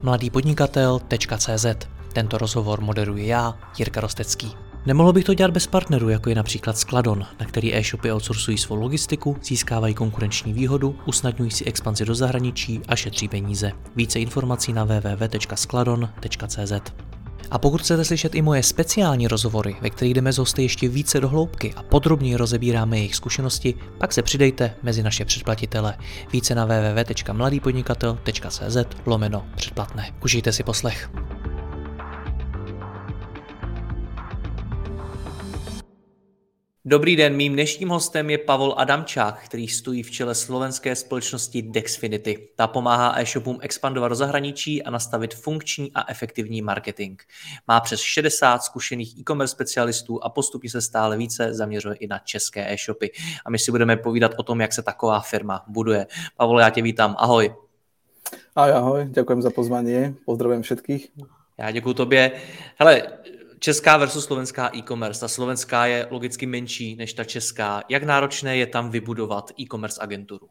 mladýpodnikatel.cz. Tento rozhovor moderuji já, Jirka Rostecký. Nemohl bych to dělat bez partnerů, jako je například Skladon, na který e-shopy outsourcují svou logistiku, získávají konkurenční výhodu, usnadňují si expanzi do zahraničí a šetří peníze. Více informací na www.skladon.cz. A pokud chcete slyšet i moje speciální rozhovory, ve kterých jdeme s hosty ještě více do hloubky a podrobněji rozebíráme jejich zkušenosti, pak se přidejte mezi naše předplatitele. Více na www.mladýpodnikatel.cz/předplatné. Užijte si poslech. Dobrý den, mým dnešním hostem je Pavol Adamčák, který stojí v čele slovenské společnosti Dexfinity. Ta pomáhá e-shopům expandovat do zahraničí a nastavit funkční a efektivní marketing. Má přes 60 zkušených e-commerce specialistů a postupně se stále více zaměřuje i na české e-shopy. A my si budeme povídat o tom, jak se taková firma buduje. Pavol, já tě vítám, ahoj. Ahoj, ďakujem za pozvanie, pozdravujem všetkých. Já děkuju tobě. Hele, česká versus slovenská e-commerce. Ta slovenská je logicky menší než ta česká. Jak náročné je tam vybudovat e-commerce agenturu?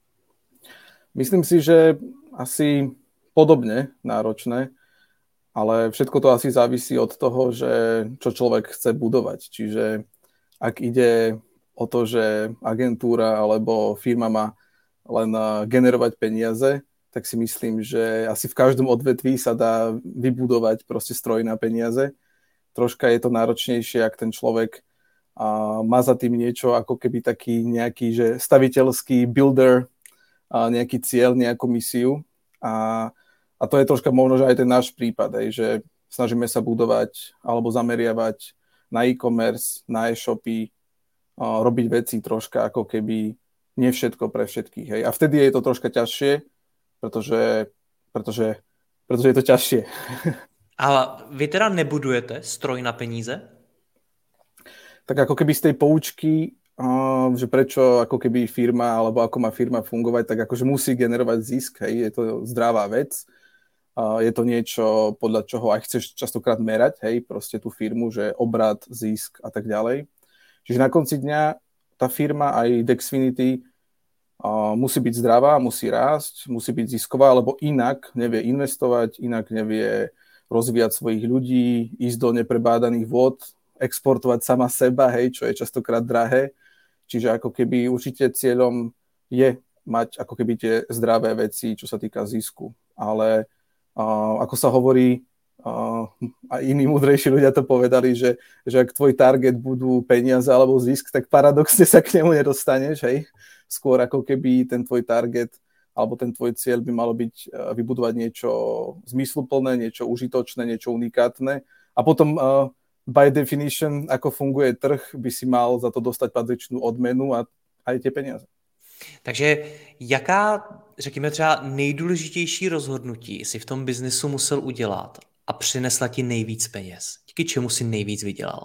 Myslím si, že asi podobne náročné, ale všetko to asi závisí od toho, že čo človek chce budovať. Čiže ak ide o to, že agentúra alebo firma má len generovať peniaze, tak si myslím, že asi v každom odvetví sa dá vybudovať proste stroj na peniaze. Troška je to náročnejšie, ak ten človek má za tým niečo ako keby taký nejaký že staviteľský builder, nejaký cieľ, nejakú misiu. A to je troška možno, že aj ten náš prípad, že snažíme sa budovať alebo zameriavať na e-commerce, na e-shopy, robiť veci troška ako keby nie všetko pre všetkých. Hej. A vtedy je to troška ťažšie, pretože je to ťažšie. A vy teda nebudujete stroj na peníze? Tak ako keby z tej poučky, že prečo ako keby firma, alebo ako má firma fungovať, tak akože musí generovať zisk, hej, je to zdravá vec. Je to niečo, podľa čoho aj chceš častokrát merať, hej, proste tú firmu, že obrat, zisk a tak ďalej. Čiže na konci dňa tá firma, aj Dexfinity, musí byť zdravá, musí rásť, musí byť zisková, lebo inak nevie investovať, inak nevie rozvíjať svojich ľudí, ísť do neprebádaných vôd, exportovať sama seba, hej, čo je častokrát drahé. Čiže ako keby určite cieľom je mať ako keby tie zdravé veci, čo sa týka zisku. Ale ako sa hovorí, a iní múdrejší ľudia to povedali, že ak tvoj target budú peniaze alebo zisk, tak paradoxne sa k nemu nedostaneš, hej. Skôr ako keby ten tvoj target alebo ten tvoj cieľ by malo byť vybudovať niečo zmysluplné, niečo užitočné, niečo unikátne. A potom by definition, ako funguje trh, by si mal za to dostať patričnú odmenu a aj tie peniaze. Takže jaká, řekněme třeba nejdůležitější rozhodnutí si v tom biznesu musel udělat a přinesla ti nejvíc peněz? Díky čemu si nejvíc vydělal?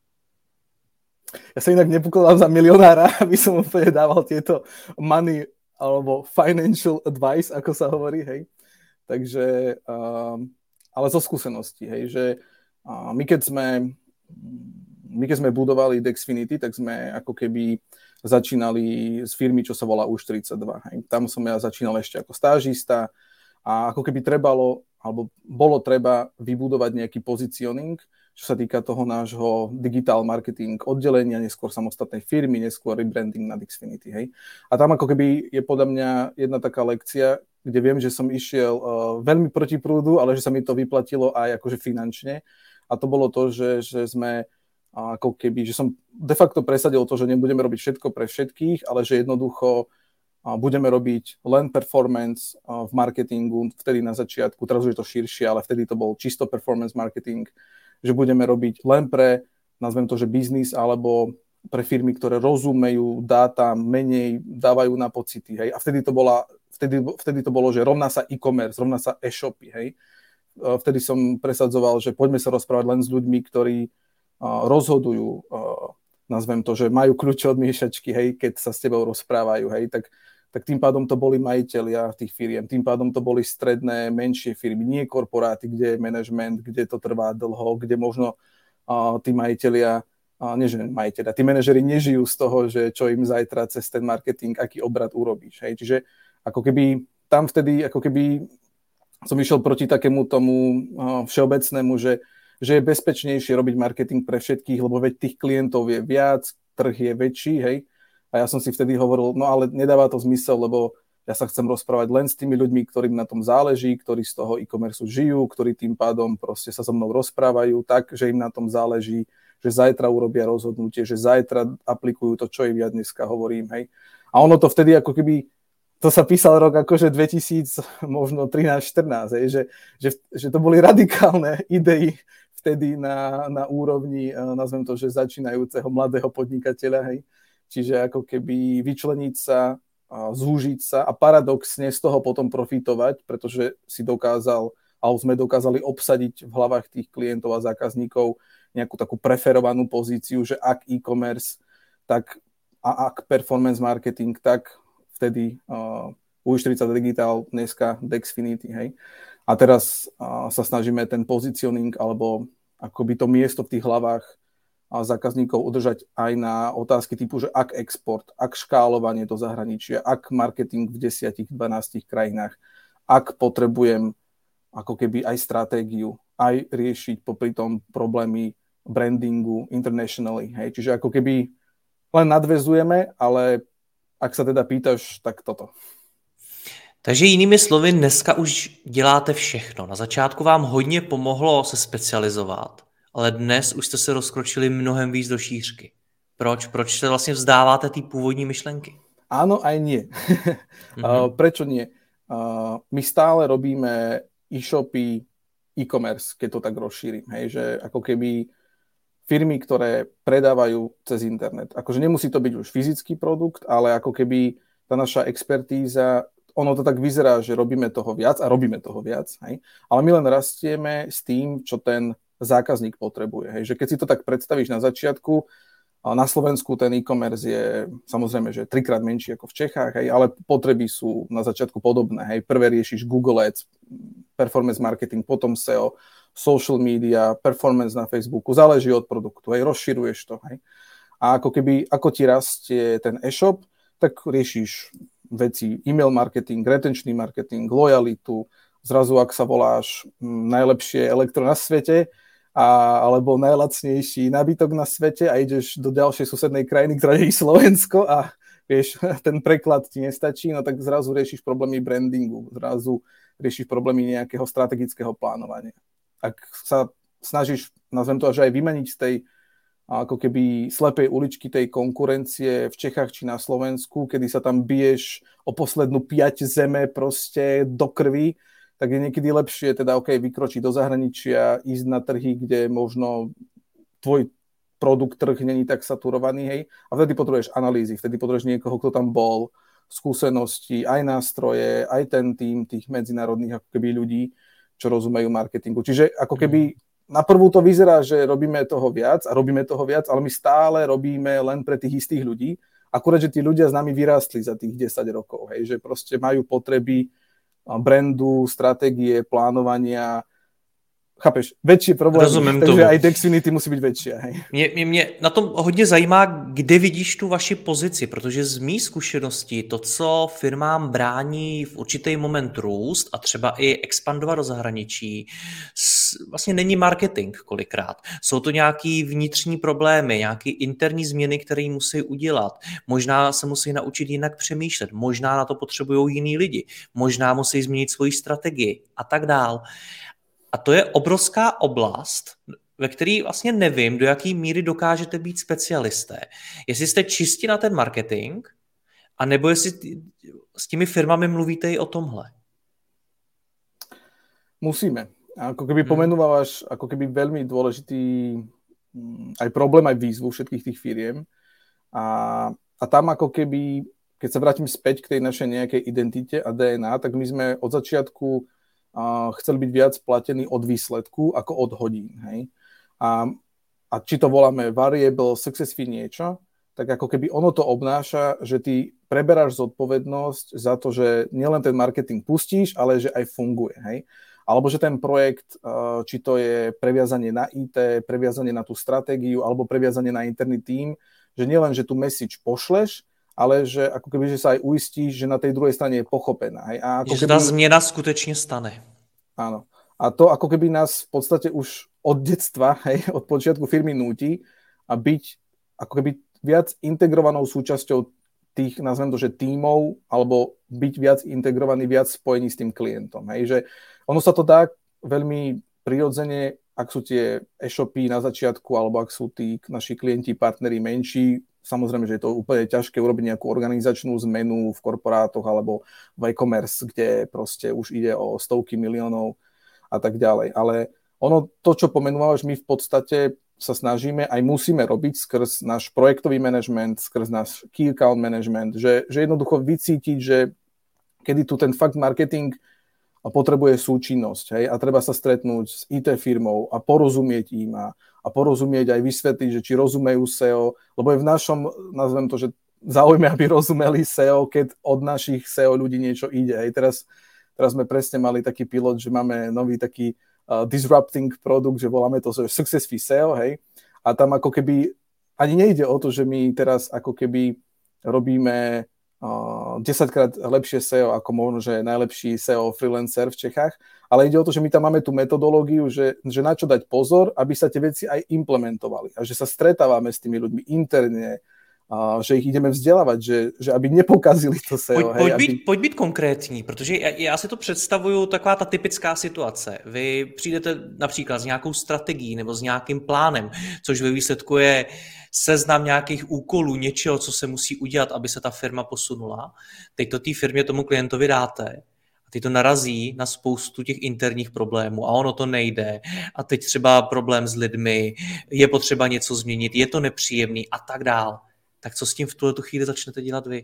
Ja sa inak nepokladám za milionára, aby som úplne dával tieto money alebo financial advice, ako sa hovorí, hej. Takže, ale zo skúseností, hej, že my keď sme budovali Dexfinity, tak sme ako keby začínali z firmy, čo sa volá už 32, hej. Tam som ja začínal ešte ako stážista a ako keby bolo treba vybudovať nejaký pozicioning, čo sa týka toho nášho digital marketing oddelenia, neskôr samostatnej firmy, neskôr rebranding na Dexfinity, hej. A tam ako keby je podľa mňa jedna taká lekcia, kde viem, že som išiel veľmi proti prúdu, ale že sa mi to vyplatilo aj akože finančne. A to bolo to, že sme ako keby, že som de facto presadil to, že nebudeme robiť všetko pre všetkých, ale že jednoducho budeme robiť len performance v marketingu, vtedy na začiatku, teraz už je to širšie, ale vtedy to bol čisto performance marketing, že budeme robiť len pre, nazvem to, že biznis, alebo pre firmy, ktoré rozumejú dáta, menej dávajú na pocity, hej. A vtedy to bolo, že rovná sa e-commerce, rovná sa e-shopy, hej. Vtedy som presadzoval, že poďme sa rozprávať len s ľuďmi, ktorí rozhodujú, nazvem to, že majú kľúče od miešačky, hej, keď sa s tebou rozprávajú, hej, tak tým pádom to boli majitelia tých firiem, tým pádom to boli stredné, menšie firmy, nie korporáty, kde je management, kde to trvá dlho, kde možno tí majitelia, tí manažeri nežijú z toho, že čo im zajtra cez ten marketing, aký obrat urobíš, hej, čiže ako keby tam vtedy ako keby som išiel proti takému tomu všeobecnému, že je bezpečnejšie robiť marketing pre všetkých, lebo veď tých klientov je viac, trh je väčší, hej. A ja som si vtedy hovoril, no ale nedáva to zmysel, lebo ja sa chcem rozprávať len s tými ľuďmi, ktorým na tom záleží, ktorí z toho e-commerce žijú, ktorí tým pádom proste sa so mnou rozprávajú tak, že im na tom záleží, že zajtra urobia rozhodnutie, že zajtra aplikujú to, čo im ja dneska hovorím, hej. A ono to vtedy ako keby, to sa písal rok akože 2000, možno 13-14, hej, že to boli radikálne idei vtedy na úrovni, nazvem to, že začínajúceho mladého podnikateľa, hej. Čiže ako keby vyčleniť sa, zúžiť sa a paradoxne z toho potom profitovať, pretože si dokázal, alebo sme dokázali obsadiť v hlavách tých klientov a zákazníkov nejakú takú preferovanú pozíciu, že ak e-commerce, tak a ak performance marketing, tak vtedy U40 Digital, dneska Dexfinity, hej. A teraz sa snažíme ten positioning alebo akoby to miesto v tých hlavách a zákazníkov udržať aj na otázky typu, že ak export, ak škálovanie do zahraničia, ak marketing v 10-12 krajinách, ak potrebujem ako keby aj stratégiu, aj riešiť popri tom problémy brandingu internationally. Hej. Čiže ako keby len nadväzujeme, ale ak sa teda pýtaš, tak toto. Takže jinými slovy, dneska už děláte všechno. Na začátku vám hodně pomohlo se specializovat, ale dnes už jste se rozkročili mnohem víc do šířky. Proč? Proč se vlastně vzdáváte té původní myšlenky? Áno, aj nie. Prečo nie? My stále robíme e-shopy, e-commerce, keď to tak rozšírim. Hej? Že ako keby firmy, ktoré predávajú cez internet. Akože nemusí to byť už fyzický produkt, ale ako keby tá naša expertíza, ono to tak vyzerá, že robíme toho viac a robíme toho viac. Hej? Ale my len rastieme s tým, čo ten zákazník potrebuje. Hej? Že keď si to tak predstavíš na začiatku, na Slovensku ten e-commerce je samozrejme, že 3-krát menší ako v Čechách, hej? Ale potreby sú na začiatku podobné. Hej? Prvé riešiš Google Ads, performance marketing, potom SEO, social media, performance na Facebooku, záleží od produktu, hej, rozširuješ to, hej. A ako ti rastie ten e-shop, tak riešiš veci e-mail marketing, retenčný marketing, lojalitu, zrazu ak sa voláš najlepšie elektro na svete, alebo najlacnejší nábytok na svete a ideš do ďalšej susednej krajiny, ktorá je Slovensko a vieš, ten preklad ti nestačí, no tak zrazu riešiš problémy brandingu, zrazu riešiš problémy nejakého strategického plánovania. Ak sa snažíš, nazvem to, že aj vymeniť z tej ako keby slepej uličky tej konkurencie v Čechách či na Slovensku, kedy sa tam biješ o poslednú 5 zeme proste do krvi, tak je niekedy lepšie teda vykročiť do zahraničia, ísť na trhy, kde možno tvoj produkt, trh není tak saturovaný, hej. A vtedy potrebuješ analýzy, vtedy potrebuješ niekoho, kto tam bol, skúsenosti, aj nástroje, aj ten tým tých medzinárodných ako keby ľudí, čo rozumejú marketingu. Čiže ako keby na prvú to vyzerá, že robíme toho viac, ale my stále robíme len pre tých istých ľudí. Akurát, že tí ľudia s nami vyrástli za tých 10 rokov. Hej, že proste majú potreby brandu, stratégie, plánovania. Chápeš, väčšie problémy. Rozumím takže tomu. aj Dexfinity musí byť väčšia. Hej. Mě na tom hodně zajímá, kde vidíš tu vaši pozici, protože z mý zkušenosti to, co firmám brání v určitý moment růst a třeba i expandovat do zahraničí, vlastně není marketing kolikrát. Jsou to nějaký vnitřní problémy, nějaké interní změny, které musí udělat. Možná se musí naučit jinak přemýšlet, možná na to potřebují jiní lidi, možná musí změnit svoji strategii a tak dál. A to je obrovská oblast, ve které vlastně nevím, do jaké míry dokážete být specialisté. Jestli jste čistí na ten marketing, anebo jestli s těmi firmami mluvíte i o tomhle. Musíme. Ako keby pomenúvaš ako keby veľmi dôležitý aj problém, aj výzvu všetkých tých firiem. A tam ako keby, keď sa vrátim späť k tej našej nejakej identite a DNA, tak my sme od začiatku chceli byť viac platení od výsledku ako od hodín. Hej? A či to voláme variable, success fee, niečo, tak ako keby ono to obnáša, že ty preberáš zodpovednosť za to, že nielen ten marketing pustíš, ale že aj funguje. Hej? Alebo že ten projekt, či to je previazanie na IT, previazanie na tú stratégiu, alebo previazanie na interný tím, že nielen, že tú message pošleš, ale že ako keby, že sa aj uistíš, že na tej druhej strane je pochopená. Hej? A ako že tá změna skutečne stane. Áno. A to ako keby nás v podstate už od detstva, hej, od počiatku firmy núti a byť ako keby viac integrovanou súčasťou tých, nazvem to, že tímov, alebo byť viac integrovaný, viac spojený s tým klientom. Hej, že ono sa to dá veľmi prirodzene, ak sú tie e-shopy na začiatku, alebo ak sú tí naši klienti, partneri menší, samozrejme, že je to úplne ťažké urobiť nejakú organizačnú zmenu v korporátoch alebo v e-commerce, kde proste už ide o stovky miliónov a tak ďalej. Ale ono, to, čo pomenúvaš, my v podstate sa snažíme, aj musíme robiť skrz náš projektový manažment, skrz náš key account management, že jednoducho vycítiť, že kedy tu ten fakt marketing potrebuje súčinnosť, hej, a treba sa stretnúť s IT firmou a porozumieť im a porozumieť aj vysvetliť, že či rozumejú SEO, lebo je v našom, nazvem to, že záujme, aby rozumeli SEO, keď od našich SEO ľudí niečo ide. Hej. Teraz sme presne mali taký pilot, že máme nový taký disrupting produkt, že voláme to Success Fee SEO, hej, a tam ako keby ani nejde o to, že my teraz ako keby robíme 10-krát lepšie SEO ako možno, že najlepší SEO freelancer v Čechách, ale ide o to, že my tam máme tú metodológiu, že na čo dať pozor, aby sa tie veci aj implementovali a že sa stretávame s tými ľuďmi interne, že ich ideme vzdělávat, že aby nepokazili to SEO. Pojď být konkrétní, protože já si to představuju taková ta typická situace. Vy přijdete například s nějakou strategií nebo s nějakým plánem, což ve výsledku je seznam nějakých úkolů, něčeho, co se musí udělat, aby se ta firma posunula. Teď to té firmě, tomu klientovi dáte. A ty to narazí na spoustu těch interních problémů a ono to nejde. A teď třeba problém s lidmi, je potřeba něco změnit, je to nepříjemný a tak dál. Tak co s tím v tuhletu chvíli začnete dělat vy?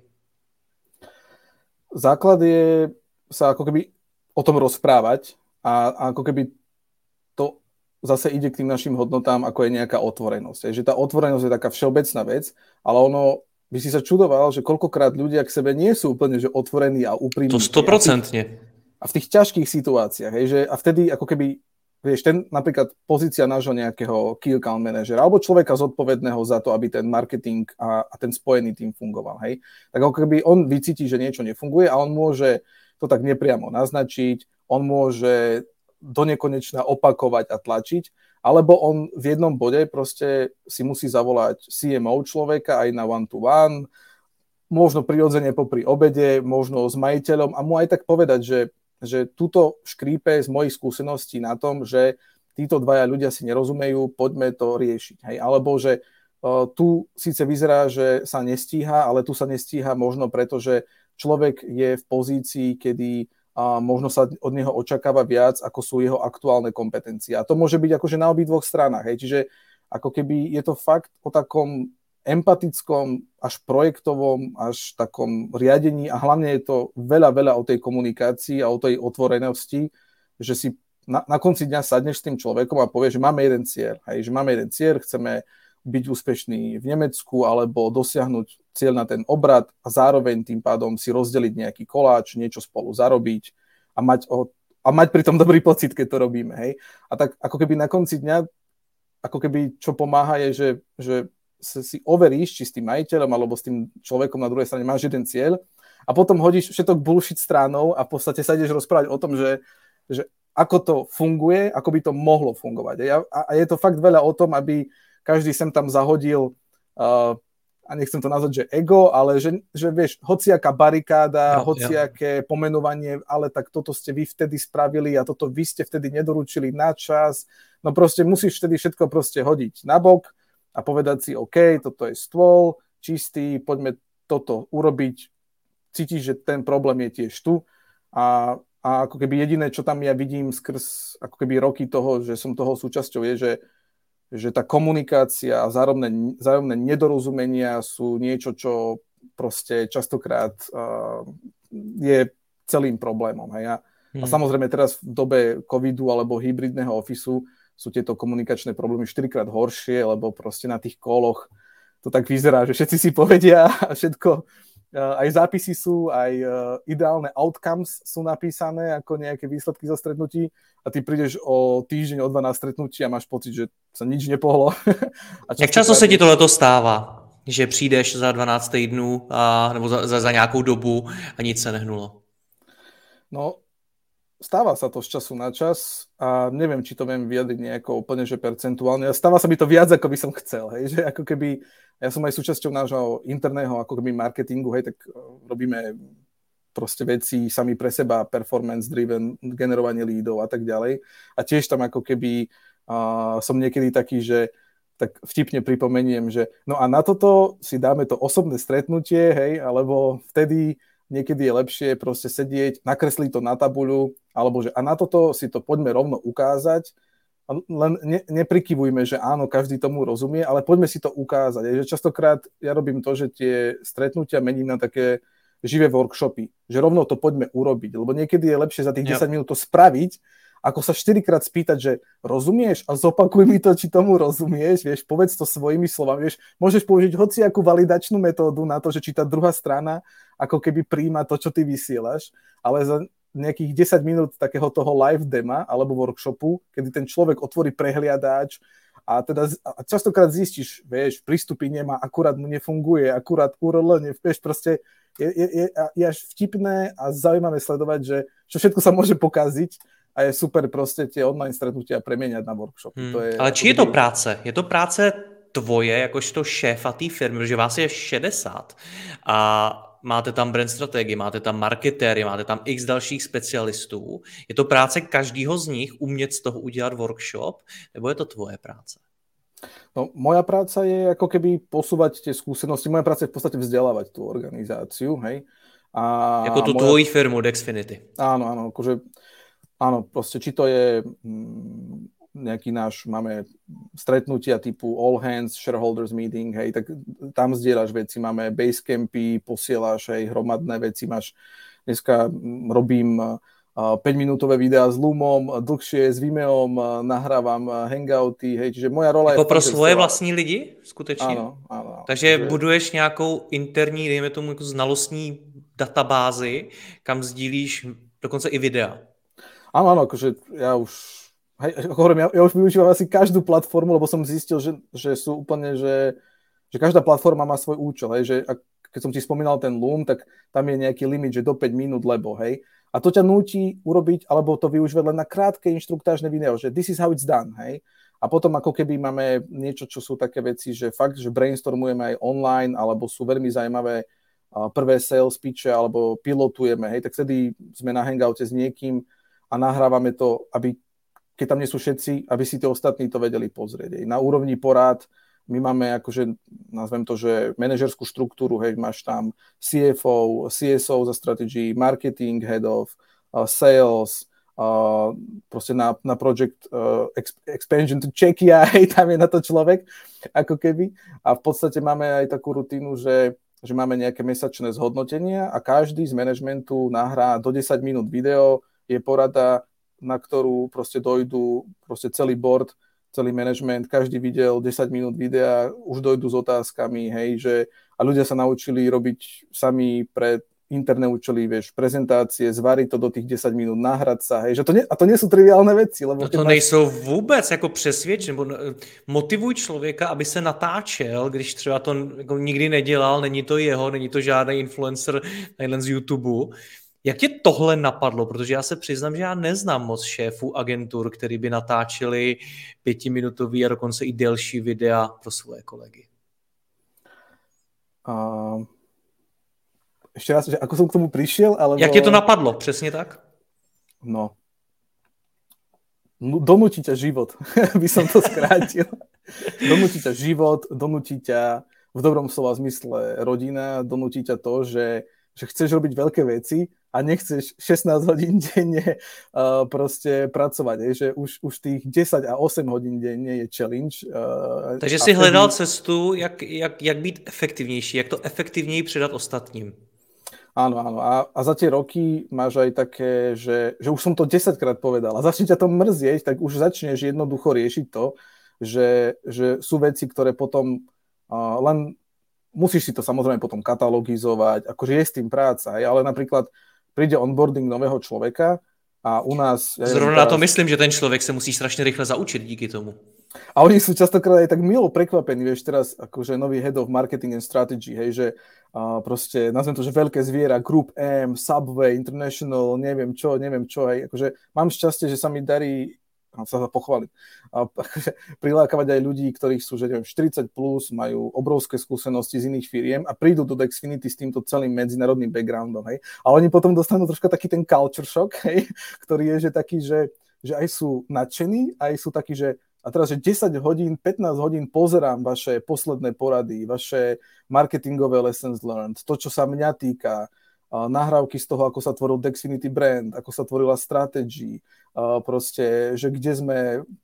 Základ je sa ako keby o tom rozprávať a ako keby to zase ide k tým našim hodnotám, ako je nejaká otvorenosť. Že tá otvorenosť je taká všeobecná vec, ale ono, by si sa čudoval, že koľkokrát ľudia k sebe nie sú úplne že otvorení a úprimní. To 100%. A v tých ťažkých situáciách, že a vtedy ako keby vieš, ten napríklad pozícia nášho nejakého key account manažera alebo človeka zodpovedného za to, aby ten marketing a ten spojený tým fungoval, hej. Tak ako keby on vycíti, že niečo nefunguje a on môže to tak nepriamo naznačiť, on môže do nekonečna opakovať a tlačiť, alebo on v jednom bode proste si musí zavolať CMO človeka aj na one-to-one, možno prirodzene popri obede, možno s majiteľom a mu aj tak povedať, že tuto škrípe z mojich skúseností na tom, že títo dvaja ľudia si nerozumejú, poďme to riešiť. Hej? Alebo že tu síce vyzerá, že sa nestíha, ale tu sa nestíha možno preto, že človek je v pozícii, kedy možno sa od neho očakáva viac, ako sú jeho aktuálne kompetencie. A to môže byť akože na obidvoch stranách. Hej? Čiže ako keby je to fakt o takom empatickom, až projektovom, až takom riadení a hlavne je to veľa o tej komunikácii a o tej otvorenosti, že si na konci dňa sadneš s tým človekom a povieš, že máme jeden cieľ, hej, že máme jeden cieľ, chceme byť úspešní v Nemecku alebo dosiahnuť cieľ na ten obrad a zároveň tým pádom si rozdeliť nejaký koláč, niečo spolu zarobiť a mať pri tom dobrý pocit, keď to robíme. Hej. A tak ako keby na konci dňa, ako keby čo pomáha je, že si overíš, či s tým majiteľom alebo s tým človekom na druhej strane máš jeden cieľ a potom hodíš všetok bullshit stranou a v podstate sa ideš rozprávať o tom, že ako to funguje, ako by to mohlo fungovať. A je to fakt veľa o tom, aby každý sem tam zahodil a nechcem to nazvať, že ego, ale že vieš, hociaká barikáda, hociaké pomenovanie, ale tak toto ste vy vtedy spravili a toto vy ste vtedy nedoručili na čas. No proste musíš vtedy všetko proste hodiť nabok a povedať si, OK, toto je stôl, čistý, poďme toto urobiť. Cítiš, že ten problém je tiež tu a ako keby jediné, čo tam ja vidím skrz ako keby roky toho, že som toho súčasťou, je, že tá komunikácia a zároveň nedorozumenia sú niečo, čo proste častokrát je celým problémom. Hej. A samozrejme teraz v dobe covidu alebo hybridného ofisu sú tieto komunikačné problémy 4-krát horšie, lebo proste na tých koloch to tak vyzerá, že všetci si povedia a všetko, aj zápisy sú, aj ideálne outcomes sú napísané ako nejaké výsledky zo stretnutí a ty prídeš o týždeň, o 2 na stretnutí a máš pocit, že sa nič nepohlo. Jak často se ti tohleto stává, že přijdeš za 12 týdnů nebo za nějakou dobu a nic se nehnulo? No, stáva sa to z času na čas a neviem, či to viem vyjadriť nejako úplne, že percentuálne. Stáva sa mi to viac, ako by som chcel, hej, že ako keby, ja som aj súčasťou nášho interného ako keby marketingu, hej, tak robíme proste veci sami pre seba, performance driven, generovanie lídov a tak ďalej. A tiež tam ako keby som niekedy taký, že tak vtipne pripomeniem, že no a na toto si dáme to osobné stretnutie, hej, alebo vtedy niekedy je lepšie proste sedieť, nakresliť to na tabuľu, alebo že a na toto si to poďme rovno ukázať, len neprikyvujme, že áno, každý tomu rozumie, ale poďme si to ukázať. Že častokrát ja robím to, že tie stretnutia mením na také živé workshopy, že rovno to poďme urobiť, lebo niekedy je lepšie za tých 10 minút to spraviť, ako sa 4-krát spýtať, že rozumieš a zopakuj mi to, či tomu rozumieš, vieš, povedz to svojimi slovami, vieš, môžeš použiť hociakú validačnú metódu na to, že či tá druhá strana ako keby príjma to, čo ty vysielaš, ale za nejakých 10 minút takého toho live dema alebo workshopu, kedy ten človek otvorí prehliadač a teda častokrát zistíš, vieš, prístupy nemá, akurát mu nefunguje, akurát URL, vieš, proste je až vtipné a zaujímavé sledovať, že čo všetko sa môže pokaziť a je super proste tie online stretnutia premieňať na workshopy. To je, ale či je to práce? Je to práce tvoje, jakožto šéfa té firmy, protože vás je 60 a máte tam brand strategii, máte tam marketéry, máte tam x dalších specialistů. Je to práce každého z nich umět z toho udělat workshop, nebo je to tvoje práce? No, moja práca je ako keby posúvať tie skúsenosti. Moja práca je v podstate vzdelávať tú organizáciu, hej. Jako tú tvoji firmu Dexfinity. Áno, akože áno, proste či to je nejaký náš, máme stretnutia typu all hands, shareholders meeting, hej, tak tam zdieľaš veci, máme basecampy, posieláš, hej, hromadné veci, máš, dneska robím 5-minútové videá s Loomom, dlhšie s Vimeom, nahrávam hangouty, hej, čiže moja rola jako je... pro svoje vlastní lidi, skutečně? Áno. Takže buduješ nějakou interní, dejme tomu, jako znalostní databázi, kam sdílíš dokonce i videa. Áno, akože ja už, hej, ako hovorím, ja už využívam asi každú platformu, lebo som zistil, že sú úplne, že každá platforma má svoj účel, hej, že keď som ti spomínal ten Loom, tak tam je nejaký limit, že do 5 minút, lebo, hej, a to ťa núti urobiť, alebo to využívať len na krátke inštruktážne video, že this is how it's done, hej, a potom ako keby máme niečo, čo sú také veci, že fakt, že brainstormujeme aj online, alebo sú veľmi zaujímavé prvé sales pitche, alebo pilotujeme, hej, tak vtedy sme na hangoute s niekým a nahrávame to, aby, keď tam nie sú všetci, aby si tí ostatní to vedeli pozrieť. Na úrovni porád my máme akože, nazvem to, že manažerskú štruktúru, hej, máš tam CFO, CSO za strategy, marketing, head of, sales, proste na project expansion to Czechia, hej, tam je na to človek, ako keby. A v podstate máme aj takú rutinu, že máme nejaké mesačné zhodnotenia a každý z managementu nahrá do 10 minút video, je porada, na ktorú proste dojdú proste celý board, celý management, každý videl 10 minút videa, už dojdú s otázkami, hej, že a ľudia sa naučili robiť sami pre interné účely, vieš, prezentácie, zvariť to do tých 10 minút, nahrať sa, hej, že a to nie sú triviálne veci. Lebo to nejsou vůbec jako přesvědč, nebo motivuj člověka, aby se natáčel, když třeba to jako nikdy nedělal, není to jeho, není to žádný influencer jen z YouTube. Jak tě tohle napadlo? Protože já se přiznám, že já neznám moc šéfů agentur, který by natáčeli 5minutový a dokonce i delší videa pro svoje kolegy. Ešte raz, že ako som k tomu prišiel? Alebo... Jak tě to napadlo? Přesně tak? No. Donúti ťa život, by som to skrátil. Donúti ťa život, donúti ťa v dobrom slova zmysle rodina, donúti ťa to, že chceš robiť veľké veci a nechceš 16 hodín denne proste pracovať. Že už tých 10 a 8 hodín denne je challenge. Takže si hledal cestu, jak být efektivnější, jak to efektivněji předat ostatním. Áno. A za tie roky máš aj také, že už som to 10-krát povedal a začne ťa to mrzieť, tak už začneš jednoducho riešiť to, že sú veci, ktoré potom len musíš si to samozrejme potom katalogizovať, akože je s tým práca, ale napríklad príde onboarding nového človeka A u nás... Ja Zrovna teraz... na to myslím, že ten člověk se musí strašně rychle zaučit díky tomu. A oni sú častokrát aj tak milo prekvapení, vieš, teraz akože nový head of marketing and strategy, hej, že proste, nazvem to, že veľké zviera, Group M, Subway, International, neviem čo, hej, akože mám šťastie, že sa mi darí sa pochváliť. Akože prilákavať aj ľudí, ktorých sú, že neviem, 40 plus, majú obrovské skúsenosti z iných firiem a prídu do Dexfinity s týmto celým medzinárodným backgroundom, hej. A oni potom dostanú troška taký ten culture shock, hej, ktorý je, že taký, že aj sú nadšení, aj sú takí, že a teraz, že 10 hodín, 15 hodín pozerám vaše posledné porady, vaše marketingové lessons learned, to, čo sa mňa týka, nahrávky z toho, ako sa tvoril Dexfinity brand, ako sa tvorila strategy, proste, že kde sme,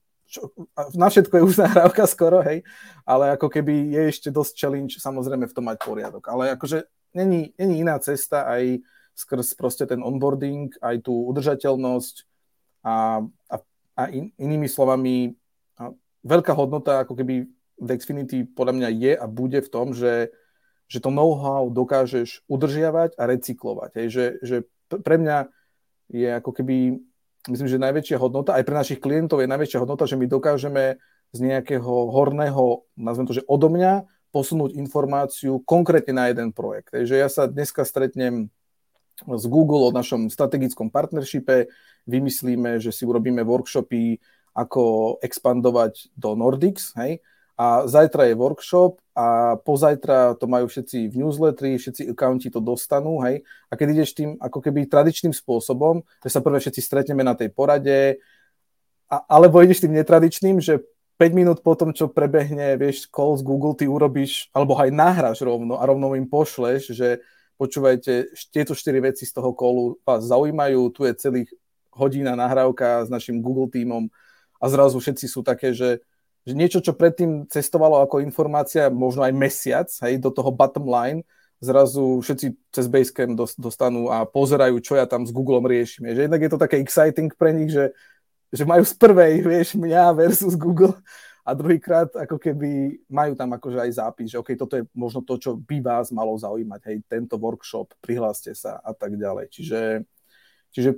na všetko je už nahrávka skoro, hej, ale ako keby je ešte dosť challenge, samozrejme v tom mať poriadok, ale akože není iná cesta aj skrz proste ten onboarding, aj tú udržateľnosť a inými slovami veľká hodnota ako keby v Dexfinity podľa mňa je a bude v tom, že to know-how dokážeš udržiavať a recyklovať. Hej. Že pre mňa je ako keby, myslím, že najväčšia hodnota, aj pre našich klientov je najväčšia hodnota, že my dokážeme z nejakého horného, nazvem to, že odo mňa, posunúť informáciu konkrétne na jeden projekt. Hej. Že ja sa dneska stretnem z Google o našom strategickom partnershipe, vymyslíme, že si urobíme workshopy, ako expandovať do Nordics, hej, a zajtra je workshop a pozajtra to majú všetci v newsletteri, všetci accounti to dostanú, hej, a keď ideš tým ako keby tradičným spôsobom, že sa prvé všetci stretneme na tej porade, alebo ideš tým netradičným, že 5 minút po tom, čo prebehne, vieš, call z Google, ty urobíš, alebo aj nahráš rovno a rovno im pošleš, že počúvajte, tieto 4 veci z toho callu vás zaujímajú, tu je celých hodina nahrávka s našim Google tímom, a zrazu všetci sú také, že niečo, čo predtým cestovalo ako informácia, možno aj mesiac, hej, do toho bottom line, zrazu všetci cez Basecamp dostanú a pozerajú, čo ja tam s Googlom riešim. Že jednak je to také exciting pre nich, že majú z prvej, vieš, mňa versus Google a druhýkrát ako keby majú tam akože aj zápis, že OK, toto je možno to, čo by vás malo zaujímať, hej, tento workshop, prihláste sa a tak ďalej. Čiže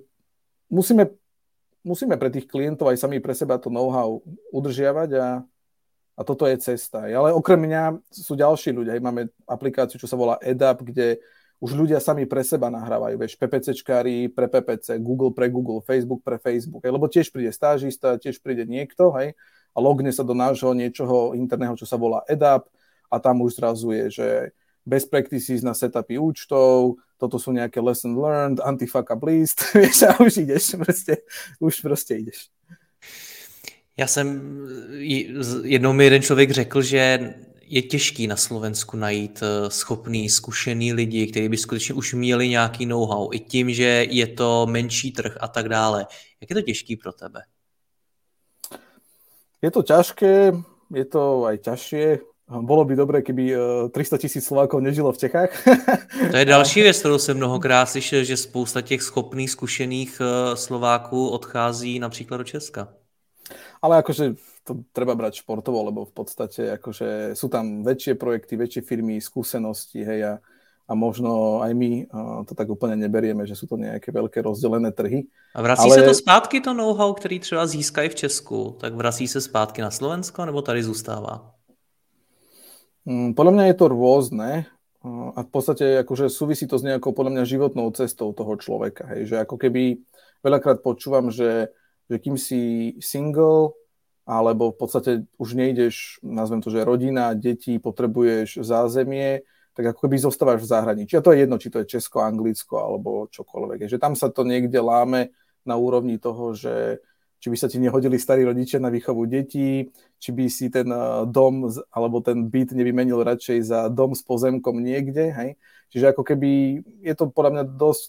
musíme pre tých klientov aj sami pre seba to know-how udržiavať a toto je cesta. Ale okrem mňa sú ďalší ľudia. Máme aplikáciu, čo sa volá EDAP, kde už ľudia sami pre seba nahrávajú. Vieš, PPCčkári pre PPC, Google pre Google, Facebook pre Facebook. Lebo tiež príde stážista, tiež príde niekto, hej, a logne sa do nášho niečoho interného, čo sa volá EDAP a tam už zrazu je, že best practices na setupy účtov, toto sú nejaké lesson learned, anti-fuck up list, vieš, a už ideš, už proste ideš. Já jsem, jednou mi jeden člověk řekl, že je těžký na Slovensku najít schopný, zkušený lidi, kteří by skutečně už měli nějaký know-how, i tím, že je to menší trh a tak dále. Jak je to těžký pro tebe? Je to ťažké, je to aj ťažšie. Bolo by dobré, keby 300 000 Slovákov nežilo v Čechách. To je další věc, kterou jsem mnohokrát slyšel, že spousta těch schopných, zkušených Slováků odchází například do Česka. Ale akože to treba brať športovo, lebo v podstate akože sú tam väčšie projekty, väčšie firmy, skúsenosti, hej, a možno aj my to tak úplně neberieme, že sú to nejaké veľké rozdelené trhy. A vrací se to zpátky, to know-how, který třeba získají v Česku, tak vrací se zpátky na Slovensko, nebo tady zůstává? Podľa mňa je to rôzne a v podstate akože súvisí to s nejakou podľa mňa životnou cestou toho človeka. Hej? Že ako keby veľakrát počúvam, že kým si single alebo v podstate už nejdeš, nazvem to, že rodina, deti, potrebuješ zázemie, tak ako keby zostávaš v zahraničí. A to je jedno, či to je Česko, Anglicko alebo čokoľvek. Že tam sa to niekde láme na úrovni toho, že či by sa ti nehodili starí rodičia na výchovu detí, či by si ten dom alebo ten byt nevymenil radšej za dom s pozemkom niekde. Hej? Čiže ako keby je to podľa mňa dosť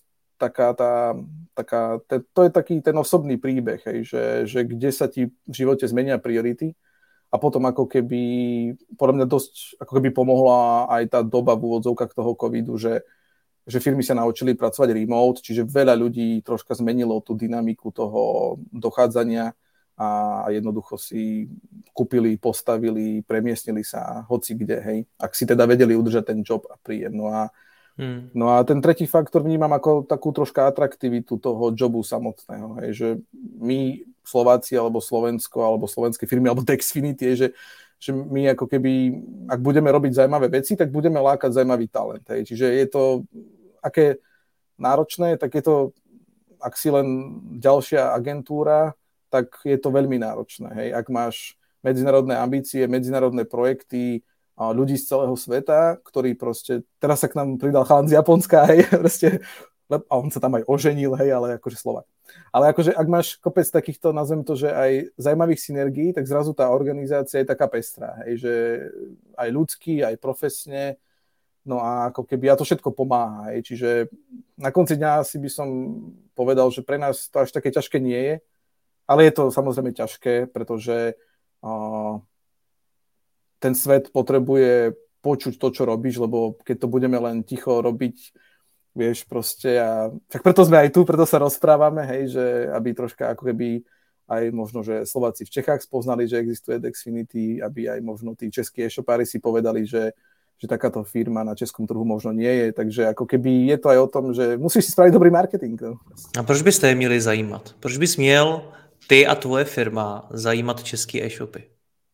to je taký ten osobný príbeh, hej? Že kde sa ti v živote zmenia priority a potom ako keby podľa mňa dosť ako keby pomohla aj tá doba v úvodzovkách toho covidu, že firmy sa naučili pracovať remote, čiže veľa ľudí troška zmenilo tú dynamiku toho dochádzania a jednoducho si kúpili, postavili, premiestnili sa hoci kde, hej. Ak si teda vedeli udržať ten job a príjem. No a No a ten tretí faktor vnímam ako takú troška atraktivitu toho jobu samotného, hej, že my Slováci alebo Slovensko alebo slovenské firmy alebo Dexfinity je, že my ako keby, ak budeme robiť zaujímavé veci, tak budeme lákať zaujímavý talent. Hej. Čiže je to aké náročné, tak je to, ak si len ďalšia agentúra, tak je to veľmi náročné. Hej. Ak máš medzinárodné ambície, medzinárodné projekty, ľudí z celého sveta, ktorí proste, teraz sa k nám pridal chalan z Japonska, hej, proste, a on sa tam aj oženil, hej, ale akože Slovák. Ale akože ak máš kopec takýchto, nazvem to, že aj zaujímavých synergií, tak zrazu tá organizácia je taká pestrá, hej, že aj ľudský, aj profesne, no a ako keby a to všetko pomáha, hej, čiže na konci dňa asi by som povedal, že pre nás to až také ťažké nie je, ale je to samozrejme ťažké, pretože ten svet potrebuje počuť to, čo robíš, lebo keď to budeme len ticho robiť, vieš, proste a tak preto sme aj tu, preto sa rozprávame, hej, že aby troška ako keby aj možno, že Slováci v Čechách spoznali, že existuje Dexfinity, aby aj možno tí českí e-shopári si povedali, že takáto firma na českom trhu možno nie je, takže ako keby je to aj o tom, že musíš si spraviť dobrý marketing. No. A proč byste je měli zajímat? Proč bys měl ty a tvoje firma zajímat české e-shopy?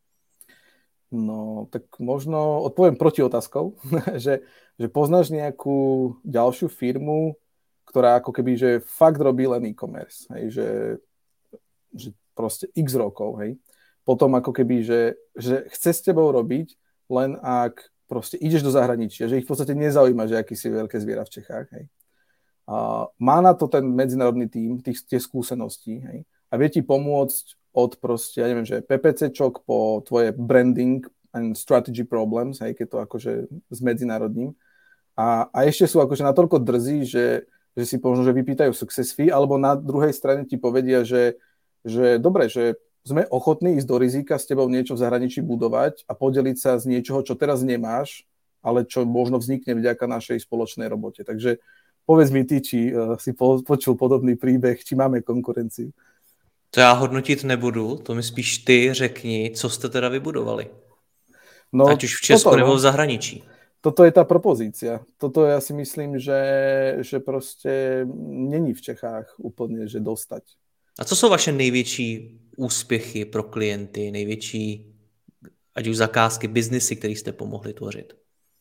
No, tak možno odpoviem proti otázkou, že poznáš nejakú ďalšiu firmu, ktorá ako keby, že fakt robí len e-commerce, hej, že proste x rokov, hej. Potom ako keby, že chce s tebou robiť, len ak proste ideš do zahraničia, že ich v podstate nezaujíma, že aký si veľké zviera v Čechách, hej. Má na to ten medzinárodný tím, tie skúsenosti, hej, a vie ti pomôcť od proste, ja neviem, že PPCčok po tvoje branding and strategy problems, hej, keď to akože s medzinárodným. A ešte sú akože natoľko drzí, že si možno, že vypýtajú success fee, alebo na druhej strane ti povedia, že dobre, že sme ochotní ísť do rizika s tebou niečo v zahraničí budovať a podeliť sa z niečoho, čo teraz nemáš, ale čo možno vznikne vďaka našej spoločnej robote. Takže povedz mi ty, či si počul podobný príbeh, či máme konkurenciu. To já hodnotit nebudu, to mi spíš ty řekni, co jste teda vybudovali. No, ať už v Česku nebo v zahraničí. Toto je tá propozícia. Toto ja si myslím, že proste není v Čechách úplne, že dostať. A co jsou vaše největší úspěchy pro klienty, největší, ať už zakázky, biznesy, které jste pomohli tvořit?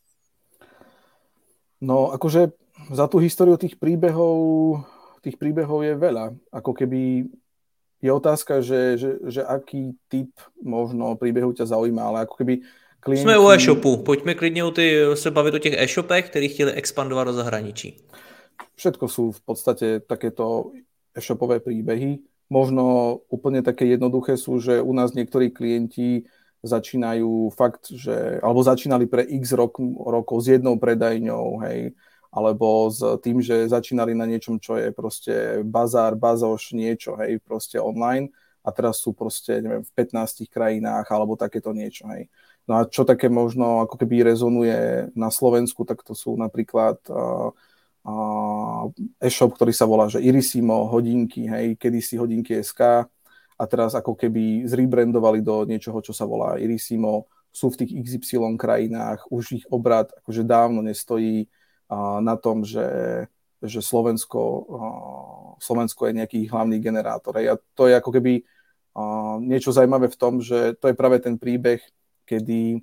No, akože za tú históriu tých príbehov je veľa. Ako keby je otázka, že aký typ možno príbehu ťa zaujíma, ale ako keby klienti... Jsme u e-shopu. Pojďme klidně se bavit o těch e-shopech, který chtěli expandovat do zahraničí. Všetko sú v podstate takéto e-shopové príbehy. Možno úplne také jednoduché sú, že u nás niektorí klienti začínajú fakt, alebo začínali pre x rokov s jednou predajňou, hej, alebo s tým, že začínali na niečom, čo je proste bazár, bazoš, niečo, hej, proste online a teraz sú proste, neviem, v 15 krajinách alebo takéto niečo, hej. No a čo také možno ako keby rezonuje na Slovensku, tak to sú napríklad e-shop, ktorý sa volá, že Irisimo, hodinky, hej, kedysi hodinky.sk a teraz ako keby zrebrandovali do niečoho, čo sa volá Irisimo, sú v tých XY krajinách, už ich obrat akože dávno nestojí na tom, že Slovensko je nejaký hlavný generátor. A to je ako keby niečo zaujímavé v tom, že to je práve ten príbeh, kedy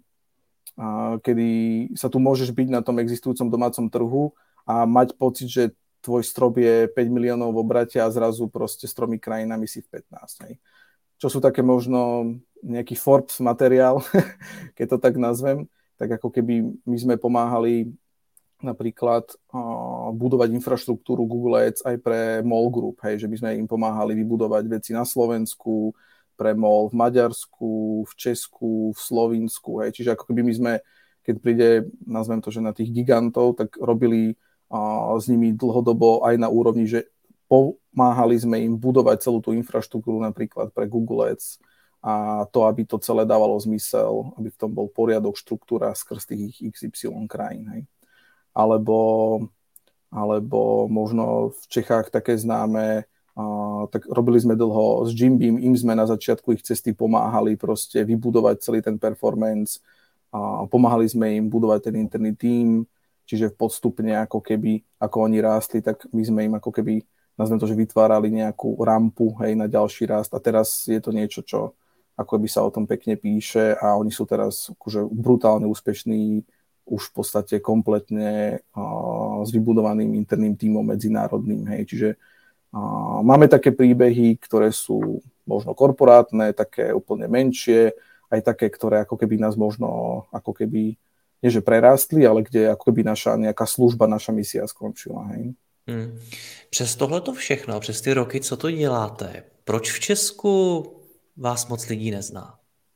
sa tu môžeš byť na tom existujúcom domácom trhu a mať pocit, že tvoj strop je 5 miliónov v obrate a zrazu proste s 3 krajinami si v 15. Hej. Čo sú také možno nejaký Forbes materiál, keď to tak nazvem, tak ako keby my sme pomáhali napríklad budovať infraštruktúru Google Ads aj pre Mall Group, hej, že by sme im pomáhali vybudovať veci na Slovensku, pre Mall v Maďarsku, v Česku, v Slovinsku, hej, čiže ako keby my sme, keď príde, nazvem to, že na tých gigantov, tak robili s nimi dlhodobo aj na úrovni, že pomáhali sme im budovať celú tú infraštruktúru napríklad pre Google Ads a to, aby to celé dávalo zmysel, aby v tom bol poriadok, štruktúra skrz tých XY krajín, hej. Alebo možno v Čechách také známe, tak robili sme dlho s Jimbeam, im sme na začiatku ich cesty pomáhali proste vybudovať celý ten performance, pomáhali sme im budovať ten interný tím, čiže postupne ako keby, ako oni rástli, tak my sme im ako keby, nazvem to, že vytvárali nejakú rampu, hej, na ďalší rast a teraz je to niečo, čo ako by sa o tom pekne píše a oni sú teraz akože brutálne úspešní už v podstate kompletne s vybudovaným interným tímom medzinárodným, hej, čiže máme také príbehy, ktoré sú možno korporátne, také úplne menšie, aj také, ktoré ako keby nás možno ako keby, nie že prerástli, ale kde ako keby naša nejaká služba, naša misia skončila. Hej. Přes tohleto všechno, přes ty roky, co to děláte, proč v Česku vás moc lidí nezná?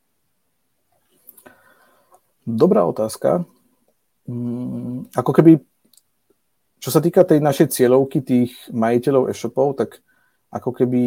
Dobrá otázka. Ako keby, čo sa týka tej našej cieľovky, tých majiteľov e-shopov, tak ako keby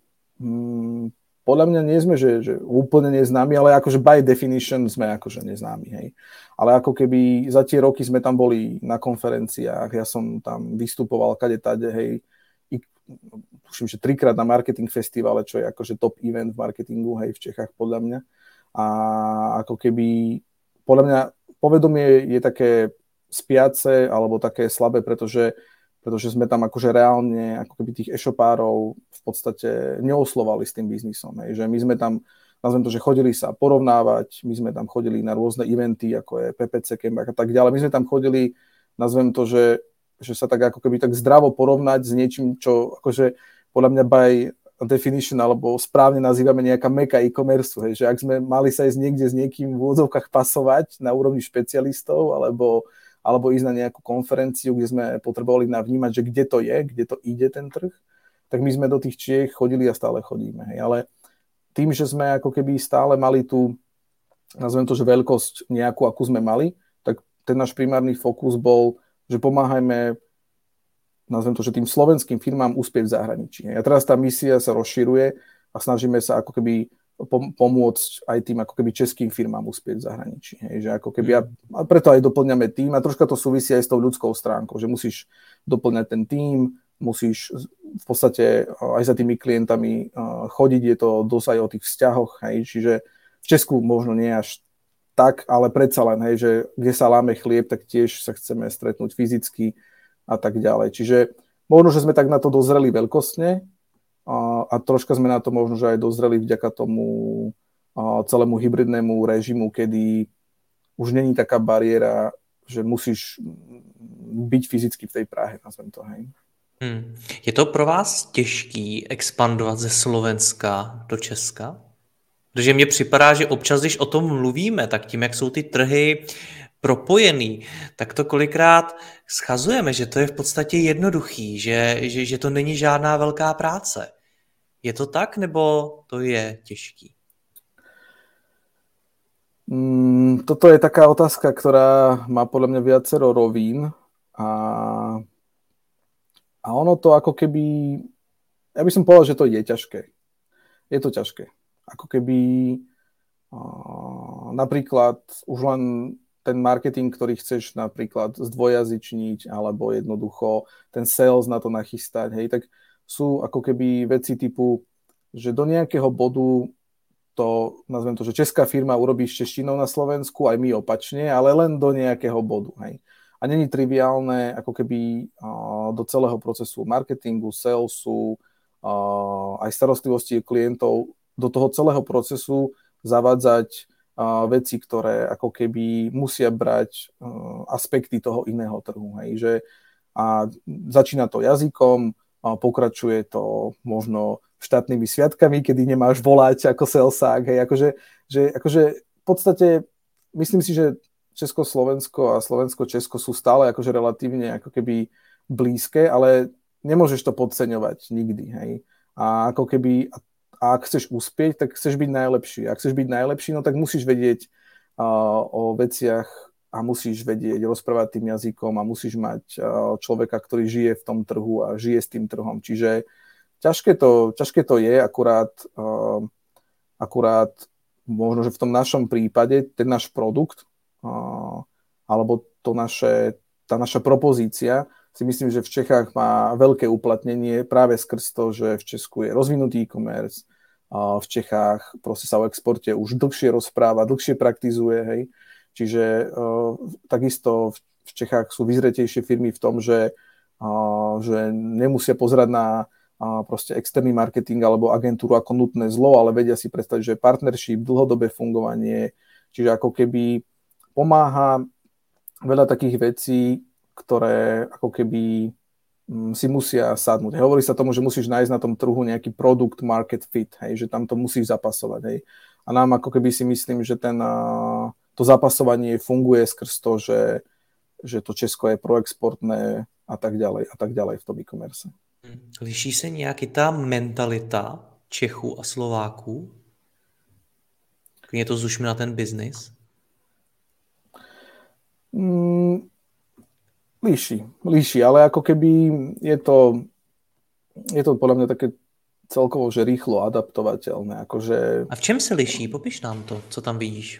podľa mňa nie sme, že úplne neznámi, ale akože by definition sme akože neznámi, hej. Ale ako keby za tie roky sme tam boli na konferenciách, ja som tam vystupoval kade-tade, hej, tuším, že 3-krát na marketing festivale, čo je akože top event v marketingu, hej, v Čechách podľa mňa. A ako keby, podľa mňa povedomie je také spiace alebo také slabé, pretože sme tam akože reálne ako keby tých e-shopárov v podstate neoslovali s tým biznisom. Hej. Že my sme tam, nazvem to, že chodili sa porovnávať, my sme tam chodili na rôzne eventy, ako je PPC Camp a tak ďalej. My sme tam chodili, nazvem to, že sa tak ako keby tak zdravo porovnať s niečím, čo akože podľa mňa by definition alebo správne nazývame nejaká meka e-commerce. Hej. Že ak sme mali sa ísť niekde s niekým v úvodzovkách pasovať na úrovni špecialistov alebo ísť na nejakú konferenciu, kde sme potrebovali navnímať, že kde to je, kde to ide ten trh, tak my sme do tých Čiech chodili a stále chodíme. Hej. Ale tým, že sme ako keby stále mali tú, nazvem to, že veľkosť nejakú, akú sme mali, tak ten náš primárny fokus bol, že pomáhajme, nazvem to, že tým slovenským firmám uspieť v zahraničí. Hej. A teraz tá misia sa rozširuje a snažíme sa ako keby pomôcť aj tým ako keby českým firmám uspieť v zahraničí. Hej, že ako keby, a preto aj doplňame tým a troška to súvisí aj s tou ľudskou stránkou, že musíš doplňať ten tým, musíš v podstate aj za tými klientami chodiť, je to dosť aj o tých vzťahoch, hej, čiže v Česku možno nie až tak, ale predsa len, hej, že kde sa láme chlieb, tak tiež sa chceme stretnúť fyzicky a tak ďalej. Čiže možno, že sme tak na to dozreli veľkostne, a troška sme na to možno, že aj dozreli vďaka tomu celému hybridnému režimu, kedy už není taká bariéra, že musíš byť fyzicky v tej Prahe, nazvem to, hej. Je to pro vás těžký expandovat ze Slovenska do Česka? Protože mně připadá, že občas, když o tom mluvíme, tak tím, jak jsou ty trhy propojený, tak to kolikrát schazujeme, že to je v podstatě jednoduchý, že to není žádná velká práce. Je to tak, nebo to je těžký? Toto je taká otázka, ktorá má podľa mňa viacero rovín a ono to ako keby, ja by som povedal, že to je ťažké. Je to ťažké. Ako keby napríklad už len ten marketing, ktorý chceš napríklad zdvojazyčniť alebo jednoducho ten sales na to nachystať, hej, tak sú ako keby veci typu, že do nejakého bodu to, nazvem to, že česká firma urobí s češtinou na Slovensku, aj my opačne, ale len do nejakého bodu, hej. A není triviálne ako keby do celého procesu marketingu, salesu, aj starostlivosti klientov, do toho celého procesu zavádzať veci, ktoré ako keby musia brať aspekty toho iného trhu. Hej. Že, a začína to jazykom, pokračuje to možno štátnymi sviatkami, kedy nemáš volať ako salesák. Hej. Akože v podstate myslím si, že Česko-Slovensko a Slovensko-Česko sú stále akože relatívne ako keby blízke, ale nemôžeš to podceňovať nikdy. Hej. A ako keby... A ak chceš uspieť, tak chceš byť najlepší. Ak chceš byť najlepší, no tak musíš vedieť o veciach a musíš vedieť rozprávať tým jazykom a musíš mať človeka, ktorý žije v tom trhu a žije s tým trhom. Čiže ťažké to je, akurát možno, že v tom našom prípade ten náš produkt alebo tá naša propozícia si myslím, že v Čechách má veľké uplatnenie práve skrz to, že v Česku je rozvinutý e-commerce, v Čechách proste sa o exporte už dlhšie rozpráva, dlhšie praktizuje, hej. Čiže takisto v Čechách sú vyzretejšie firmy v tom, že nemusia pozerať na proste externý marketing alebo agentúru ako nutné zlo, ale vedia si predstaviť, že partnership, dlhodobé fungovanie, čiže ako keby pomáha veľa takých vecí, ktoré ako keby si musia sadnúť. Hovorí sa tomu, že musíš nájsť na tom trhu nejaký product market fit, hej, že tam to musíš zapasovať. Hej. A nám ako keby si myslím, že to zapasovanie funguje skrz to, že to Česko je proexportné a tak ďalej v tom e-commerce. Liší se nějak i ta mentalita Čechů a Slováků? Když to zužme na ten biznis? Líši, ale ako keby je to podľa mňa také celkovo, že rýchlo adaptovateľné. Akože... A v čem se liší? Popiš nám to, co tam vidíš.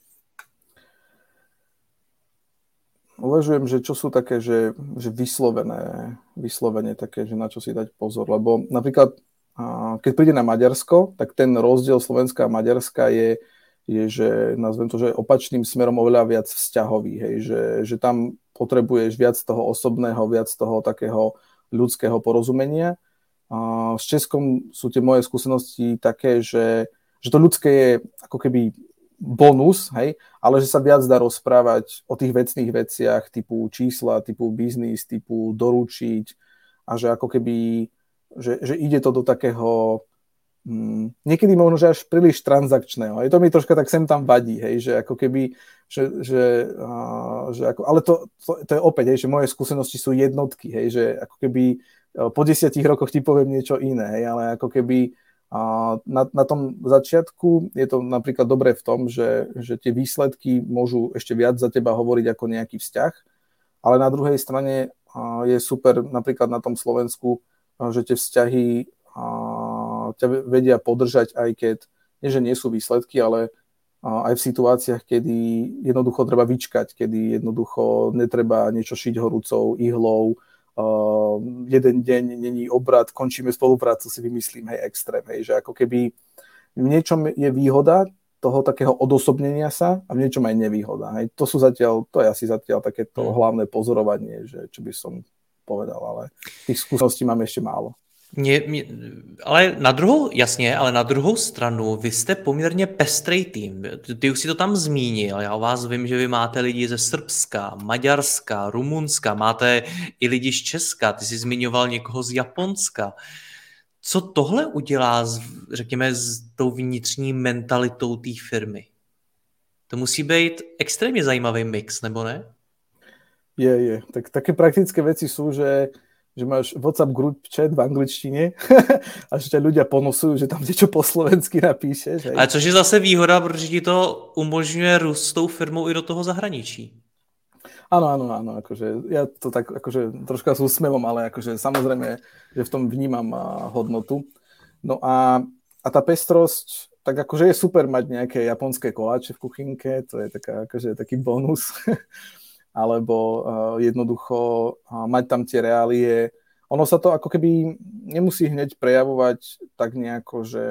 Uvažujem, že čo sú také, že vyslovene také, že na čo si dať pozor. Lebo napríklad, keď príde na Maďarsko, tak ten rozdiel Slovenska a Maďarska je, že nazvem to, že opačným smerom oveľa viac vzťahový. Hej, že tam potrebuješ viac toho osobného, viac toho takého ľudského porozumenia. S Českom sú tie moje skúsenosti také, že to ľudské je ako keby bonus, hej, ale že sa viac dá rozprávať o tých vecných veciach typu čísla, typu biznis, typu doručiť a že ako keby, že ide to do takého niekedy možno, že až príliš transakčného. Je to mi troška tak sem tam vadí, hej, že ako keby, ale to je opäť, hej, že moje skúsenosti sú jednotky, hej, že ako keby po 10 rokoch ti poviem niečo iné, hej, ale ako keby na tom začiatku je to napríklad dobré v tom, že tie výsledky môžu ešte viac za teba hovoriť ako nejaký vzťah, ale na druhej strane je super napríklad na tom Slovensku, že tie vzťahy ťa vedia podržať, aj keď nie, že nie sú výsledky, ale aj v situáciách, kedy jednoducho treba vyčkať, kedy jednoducho netreba niečo šiť horúcou ihlou, jeden deň není obrad, končíme spoluprácu, si vymyslím, hej, extrém, hej, že ako keby v niečom je výhoda toho takého odosobnenia sa a v niečom aj nevýhoda. Hej. To je asi zatiaľ takéto hlavné pozorovanie, že čo by som povedal, ale tých skúseností máme ešte málo. Ale na druhou stranu, vy jste poměrně pestrej tým. Ty už si to tam zmínil. Já o vás vím, že vy máte lidi ze Srbska, Maďarska, Rumunska, máte i lidi z Česka, ty jsi zmiňoval někoho z Japonska. Co tohle udělá, řekněme, s tou vnitřní mentalitou té firmy? To musí být extrémně zajímavý mix, nebo ne? Je. Tak také praktické veci sú, že máš WhatsApp group chat v angličtine a že ťa ľudia ponosujú, že tam niečo po slovensky napíšeš. Hej. Ale což je zase výhoda, protože ti to umožňuje růst s tou firmou i do toho zahraničí. Áno, akože ja to tak akože troška s úsmevom, ale akože samozrejme, že v tom vnímam hodnotu. No a tá pestrosť, tak akože je super mať nejaké japonské koláče v kuchynke, to je taká, akože taký bonus. Alebo jednoducho mať tam tie reálie. Ono sa to ako keby nemusí hneď prejavovať tak nejako, že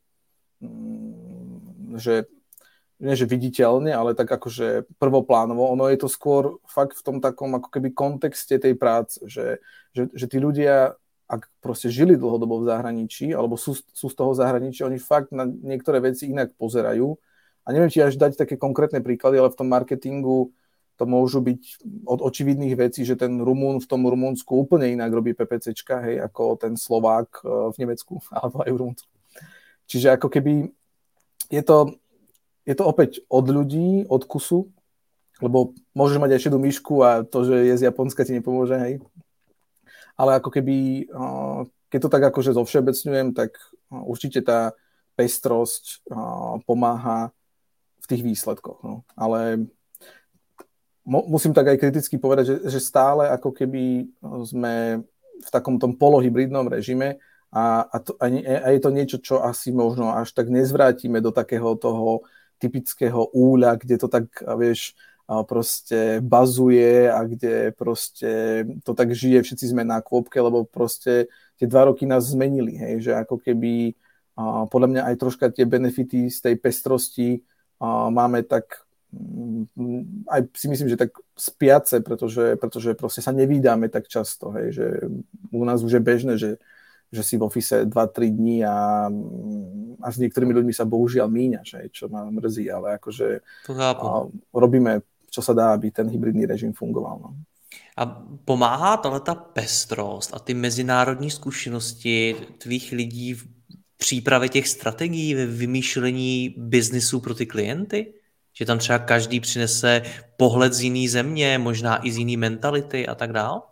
nie že viditeľne, ale tak akože prvoplánovo. Ono je to skôr fakt v tom takom ako keby kontexte tej práce, že tí ľudia, ak proste žili dlhodobo v zahraničí, alebo sú z toho zahraničia, oni fakt na niektoré veci inak pozerajú. A neviem, či až dať také konkrétne príklady, ale v tom marketingu to môžu byť od očividných vecí, že ten Rumún v tom Rumunsku úplne inak robí PPCčka, hej, ako ten Slovák v Nemecku, alebo aj v Rumunsku. Čiže ako keby je to opäť od ľudí, od kusu, lebo môžeš mať aj šedú myšku a to, že je z Japonska, ti nepomôže, hej. Ale ako keby, keď to tak akože zovšeobecňujem, tak určite tá pestrosť pomáha v tých výsledkoch. No. Ale musím tak aj kriticky povedať, že stále ako keby sme v takom tom polohybridnom režime a je to niečo, čo asi možno až tak nezvrátime do takého toho typického úľa, kde to tak, vieš, proste bazuje a kde proste to tak žije, všetci sme na kôpke, lebo proste tie 2 roky nás zmenili, hej, že ako keby podľa mňa aj troška tie benefity z tej pestrosti máme tak aj si myslím, že tak spiace, pretože proste sa nevídáme tak často, hej, že u nás už je bežné, že si v office 2-3 dní a s niektorými ľuďmi sa bohužiaľ míňaš, hej, čo ma mrzí, ale akože robíme, čo sa dá, aby ten hybridný režim fungoval. No. A pomáhá tahleta pestrost a ty mezinárodní zkušenosti tvých lidí v přípravě těch strategií, ve vymýšlení biznisu pro ty klienty? Že tam třeba každý přinese pohled z jiný země, možná i z jiný mentality a tak dál?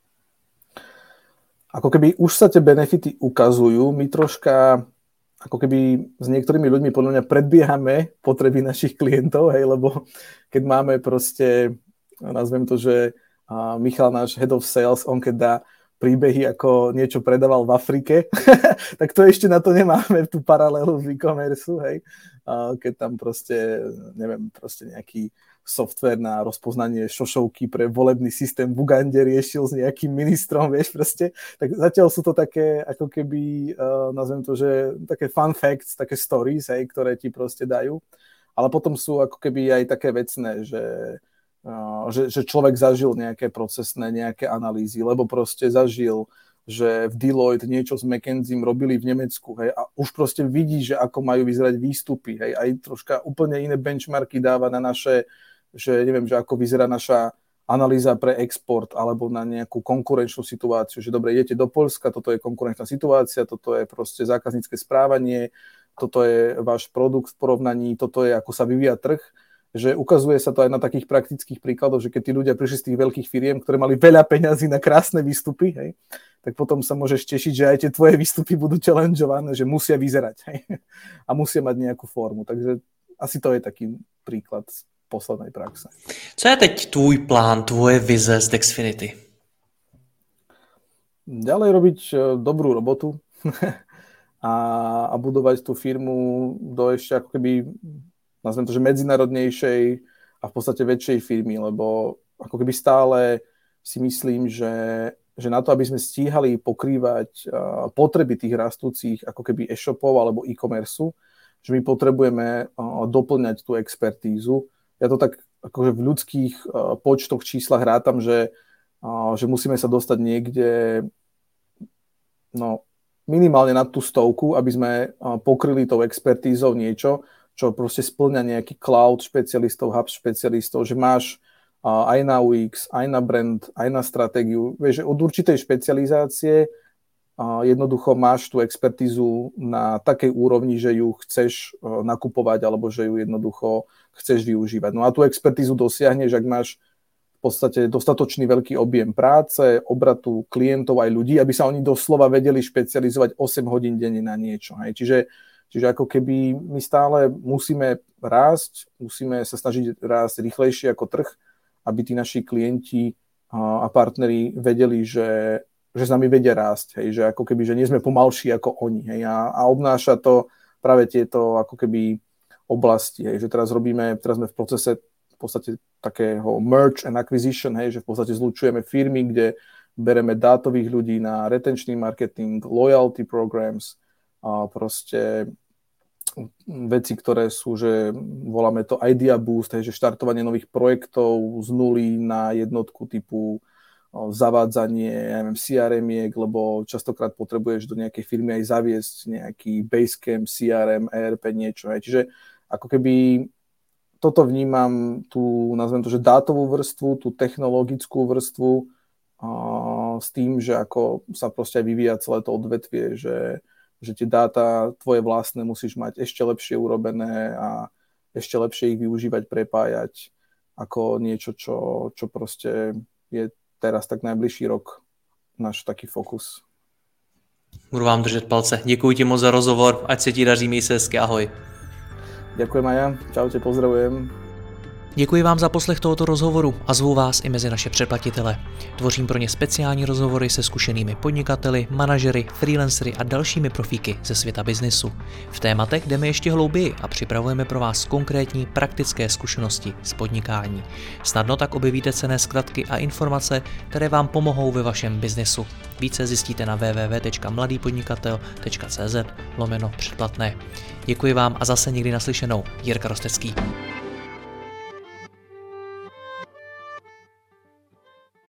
Ako keby už sa tie benefity ukazujú, my troška ako keby s niektorými ľuďmi podľa mňa predbiehame potreby našich klientov, hej, lebo keď máme proste, nazvem to, že Michal, náš head of sales, on keď dá príbehy, ako niečo predával v Afrike, tak to ešte na to nemáme, tú paralelu v e-commerce, hej. Keď tam proste, neviem, proste nejaký software na rozpoznanie šošovky pre volebný systém v Ugande riešil s nejakým ministrom, vieš, proste. Tak zatiaľ sú to také, ako keby, nazvem to, že také fun facts, také stories, hej, ktoré ti proste dajú. Ale potom sú ako keby aj také vecné, že človek zažil nejaké procesné, nejaké analýzy, lebo proste zažil, že v Deloitte niečo s McKenzie robili v Nemecku, hej, a už proste vidí, že ako majú vyzerať výstupy, hej, aj troška úplne iné benchmarky dáva na naše, že neviem, že ako vyzerá naša analýza pre export alebo na nejakú konkurenčnú situáciu, že dobre, idete do Poľska, toto je konkurenčná situácia, toto je proste zákaznícke správanie, toto je váš produkt v porovnaní, toto je, ako sa vyvíja trh, že ukazuje sa to aj na takých praktických príkladoch, že keď tí ľudia prišli z tých veľkých firiem, ktoré mali veľa peňazí na krásne výstupy, hej, tak potom sa môžeš tešiť, že aj tie tvoje výstupy budú challengeované, že musia vyzerať, hej, a musia mať nejakú formu. Takže asi to je taký príklad z poslednej praxe. Co je teď tvůj plán, tvoje vize z Dexfinity? Ďalej robiť dobrú robotu a budovať tú firmu do ešte ako keby, nazvem to, že medzinárodnejšej a v podstate väčšej firmy, lebo ako keby stále si myslím, že na to, aby sme stíhali pokrývať potreby tých rastúcich ako keby e-shopov alebo e-commerce, že my potrebujeme doplňať tú expertízu. Ja to tak akože v ľudských počtoch, číslach rátam, že musíme sa dostať niekde minimálne na tú 100, aby sme pokryli tou expertízou niečo, čo proste spĺňa nejaký cloud špecialistov, hub špecialistov, že máš aj na UX, aj na brand, aj na stratégiu. Vieš, že od určitej špecializácie jednoducho máš tú expertízu na takej úrovni, že ju chceš nakupovať alebo že ju jednoducho chceš využívať. No a tú expertízu dosiahneš, ak máš v podstate dostatočný veľký objem práce, obratu klientov aj ľudí, aby sa oni doslova vedeli špecializovať 8 hodín denne na niečo. Hej. Čiže ako keby my stále musíme rásť, musíme sa snažiť rásť rýchlejšie ako trh, aby tí naši klienti a partneri vedeli, že s nami vedia rásť, hej, že ako keby, že nie sme pomalší ako oni, hej, a obnáša to práve tieto ako keby oblasti, hej, že teraz sme v procese v podstate takého merge and acquisition, hej, že v podstate zlučujeme firmy, kde bereme dátových ľudí na retenčný marketing, loyalty programs, a proste veci, ktoré sú, že voláme to idea boost, hej, že štartovanie nových projektov z nuly na jednotku typu zavádzanie, ja neviem, CRM-iek, lebo častokrát potrebuješ do nejakej firmy aj zaviesť nejaký Basecamp, CRM, ERP, niečo. Hej. Čiže ako keby toto vnímam, tú, nazvem to, že dátovú vrstvu, tú technologickú vrstvu s tým, že ako sa proste aj vyvíja celé to odvetvie, že tie dáta tvoje vlastné musíš mať ešte lepšie urobené a ešte lepšie ich využívať, prepájať ako niečo, čo proste je teraz tak najbližší rok náš taký fokus. Budu vám držet palce. Děkuji ti moc za rozhovor. Ať se ti daří, měj se hezky. Ahoj. Ďakujem aj ja. Čaute, pozdravujem. Děkuji vám za poslech tohoto rozhovoru a zvu vás i mezi naše předplatitele. Tvořím pro ně speciální rozhovory se zkušenými podnikateli, manažery, freelancery a dalšími profíky ze světa biznesu. V tématech jdeme ještě hlouběji a připravujeme pro vás konkrétní praktické zkušenosti z podnikání. Snadno tak objevíte cenné zkratky a informace, které vám pomohou ve vašem biznesu. Více zjistíte na www.mladýpodnikatel.cz/předplatné. Děkuji vám a zase někdy naslyšenou. Jirka Rostecký.